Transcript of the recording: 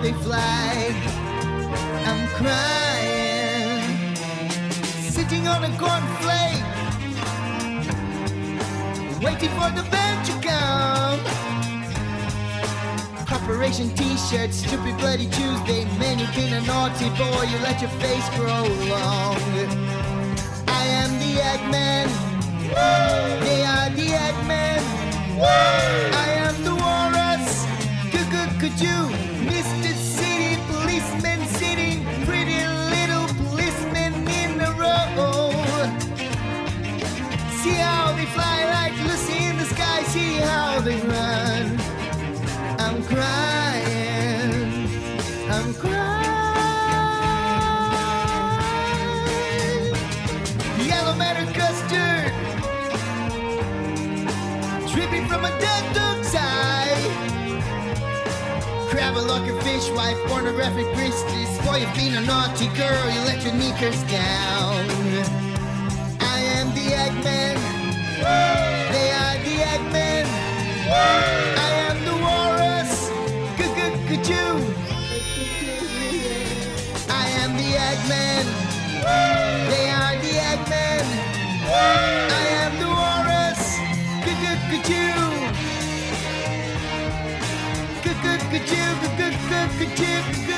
they fly. I'm crying, sitting on a cornflake, waiting for the band to come. Corporation t-shirts, stupid bloody Tuesday. Man, you've been a naughty boy, you let your face grow long. I am the Eggman, they are the Eggmen. I am the walrus, could you, Mr. City policeman sitting, pretty little policemen in a row. See how they fly like Lucy in the sky, see how they run. I'm crying, I'm crying. Yellow matter custard, dripping from a dead dog's eye. Crab a locker fish wife, pornographic wristies. Boy, you've been a naughty girl, you let your knickers down. I am the Eggman, they are the Eggmen. I am the walrus, could you? I am the Eggman, they are the Eggmen. I am the walrus, could you? Could you?